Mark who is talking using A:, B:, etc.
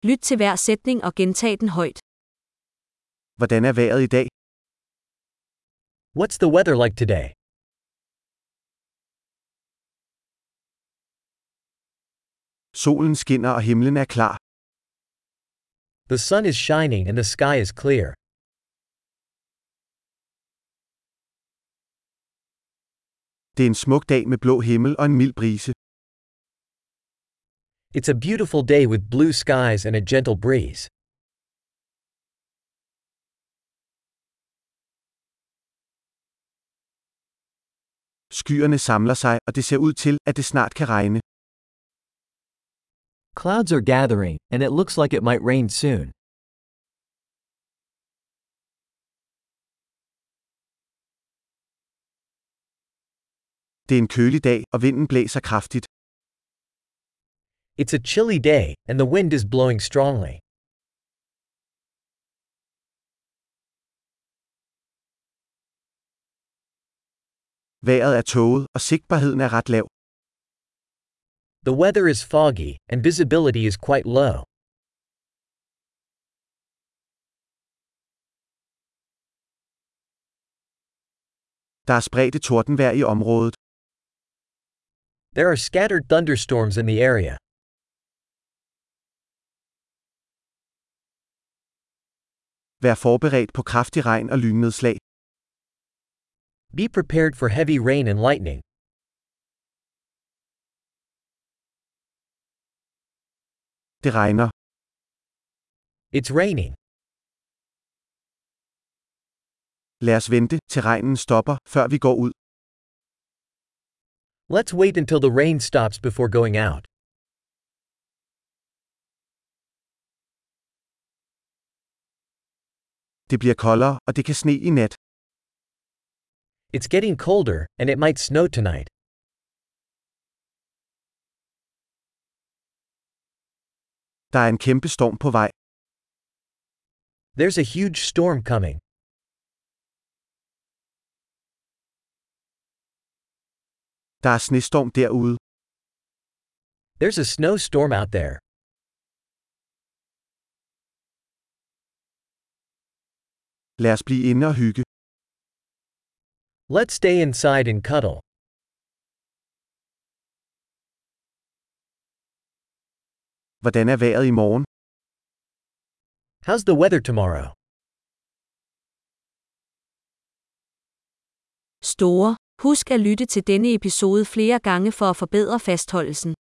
A: Lyt til hver sætning og gentag den højt.
B: Hvordan er vejret i dag?
C: What's the weather like today?
B: Solen skinner og himlen er klar.
C: The sun is shining and the sky is clear.
B: Det er en smuk dag med blå himmel og en mild brise.
C: It's a beautiful day with blue skies and a gentle breeze.
B: Skyerne samler sig, og det ser ud til, at det snart kan regne.
D: Clouds are gathering, and it looks like it might rain soon.
B: Det er en kølig dag, og vinden blæser kraftigt.
C: It's a chilly day, and the wind is blowing strongly.
B: Vejret er tåget, og sigtbarheden er ret lav.
C: The weather is foggy, and visibility is quite low.
B: Der er spredte tordenvejr i området.
C: There are scattered thunderstorms in the area.
B: Vær forberedt på kraftig regn og lynnedslag.
C: Be prepared for heavy rain and lightning.
B: Det regner.
C: It's raining.
B: Lad os vente, til regnen stopper, før vi går ud.
C: Let's wait until the rain stops before going out.
B: Det bliver koldere, og det kan sne i nat.
C: It's getting colder, and it might snow tonight.
B: Der er en kæmpe storm på vej.
C: There's a huge storm coming.
B: Der er snestorm derude.
C: There's a snowstorm out there.
B: Lad os blive inde og hygge.
C: Let's stay inside and cuddle.
B: Hvordan er vejret i morgen?
C: How's the weather tomorrow?
A: Store. Husk at lytte til denne episode flere gange for at forbedre fastholdelsen.